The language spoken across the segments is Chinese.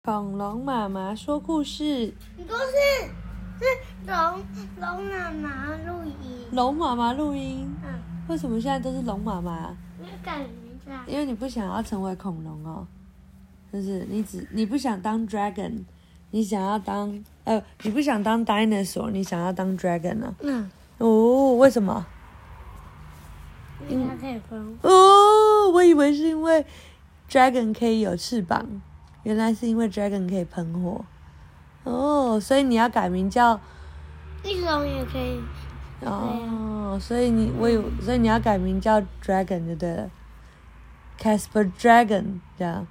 恐龙妈妈说故事。 不是，是龙妈妈录音。 龙妈妈录音。为什么现在都是龙妈妈？ 因为改名字啊。 因为你不想要成为恐龙哦，就是你不想当 dragon， 你想要当你不想当 dinosaur， 你想要当 dragon 啊？哦，为什么？ 因为它可以喷火。 哦，我以为是因为 dragon 可以有翅膀。原来是因为 dragon 可以喷火，哦，所以你要改名叫翼龙也可以。 哦，所以你要改名叫 dragon 就对了 ，Casper Dragon 这样，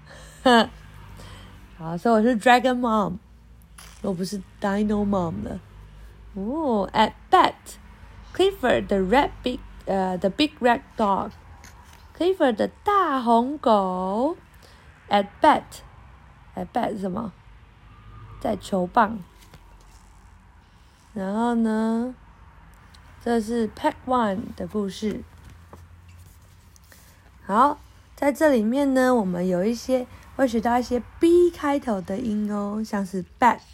好，所以我是 Dragon Mom， 我不是 Dino Mom 的。哦 ，At bat, Clifford the big red dog, Clifford 的大红狗 ，At bat。At bat 是什么？在球棒。然后呢，这是 Pack One 的故事。好，在这里面呢，我们会学到一些 B 开头的音哦，像是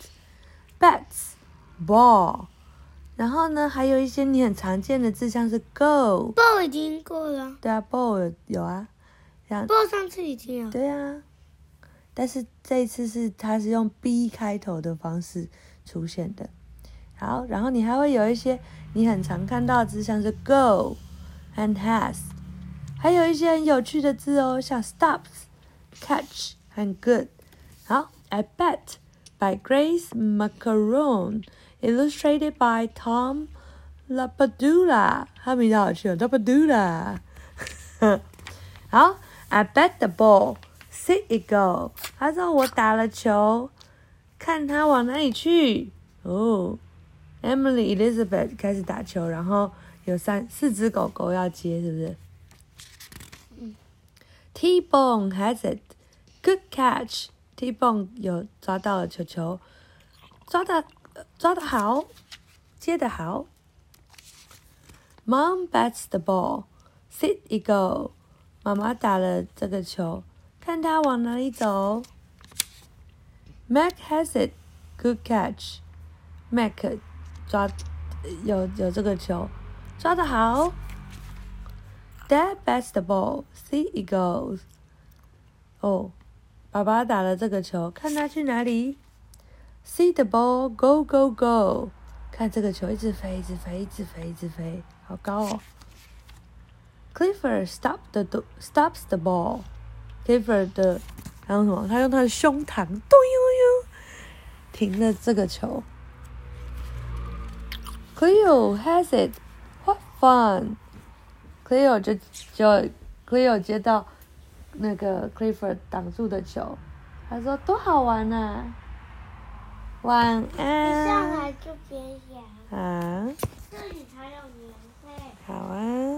bats、ball。然后呢，还有一些你很常见的字，像是 go。ball 已经过了。 对啊 ，ball 有啊。 ball 上次已经有。 对啊。但是这一次它是用 B 开头的方式出现的。好，然后你还会有一些你很常看到的字，像是 go and has， 还有一些很有趣的字哦，像 stops、catch 和 good。好 ，I bet by Grace Macaron, illustrated by Tom Lapadula。他名字好趣哦 ，Lapadula。好 ，I bet the ball。See it go！ 他说我打了球，看他往哪里去。哦 ，Emily Elizabeth 开始打球，然后有4只狗狗要接，是不是？T-Bone has it. Good catch. T-Bone 有抓到了球，抓得好，接得好。Mom bats the ball. See it go！ 妈妈打了这个球。看他往哪里走。Mac has it, good catch. Mac 有这个球，抓得好。Dad bats the ball, see it goes. 哦，爸爸打了这个球，看他去哪里。See the ball, go go go. 看这个球一直飞，一直飞，一直飞，一直飞，好高哦。Clifford stops the ball.Clifford 还有什么？他用他的胸膛，咚呦呦，停了这个球。Cleo has it, what fun! Cleo Cleo 接到那个 Clifford 挡住的球，他说多好玩啊！晚安。 你上来就别想。 啊。 这里才有年费。 好啊。